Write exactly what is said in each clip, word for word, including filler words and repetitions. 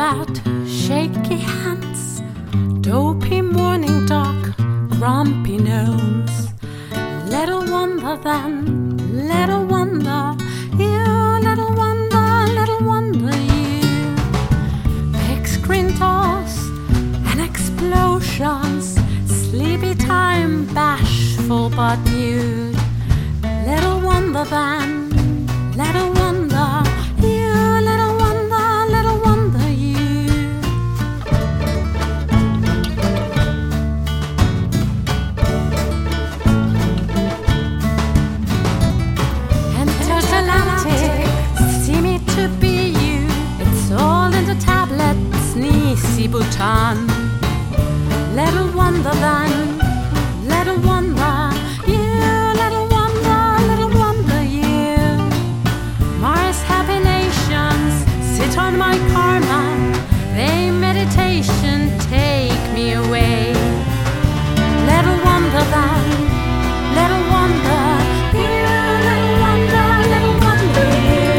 fat, shaky hands, dopey morning dog, grumpy nose. Little wonder then, little wonder, you, little wonder, little wonder you. Big screen doors and explosions, sleepy time, bashful but nude. Little wonder then, little wonder, you, little wonder, little wonder you. Intergalactic, see me to be you. It's all in the tablets, Nisi Bhutan. Little wonder then, little wonder, you, little wonder, little wonder you. Mars happy nations sit on my karma, they meditation take me away. Little wonder then, little wonder, you, little wonder, little wonder you.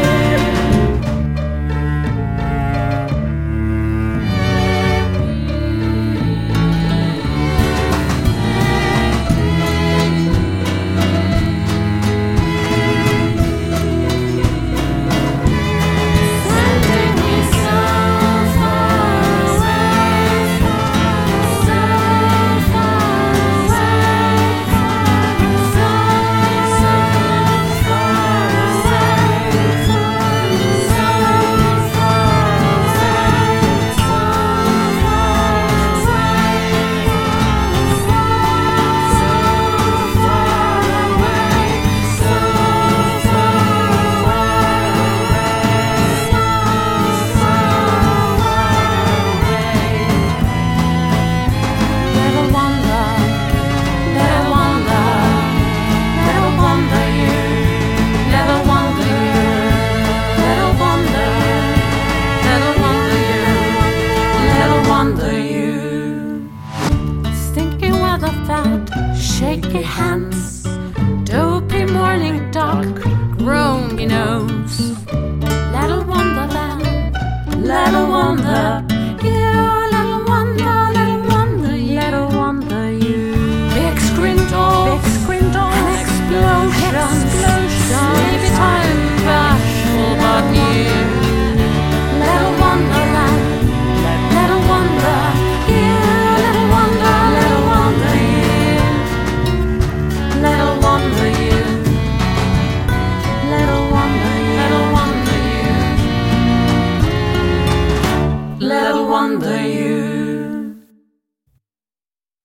Sending me so far away, so far away, so, so far away, so Little wonder, little wonder, little wonder you, little wonder you, little wonder, little wonder you, little wonder you. Stinky weather fat, shaky hands, dopey morning dog, grumpy nose. Little wonder then, little wonder, you, little wonder, little wonder you, little wonder you. Big screen door, big screen door, an explosion, explosion. Sleepy time, bashful but new. Little wonder then, little wonder, you, little wonder, little wonder you, little wonder you, little wonder, little wonder you, little wonder you.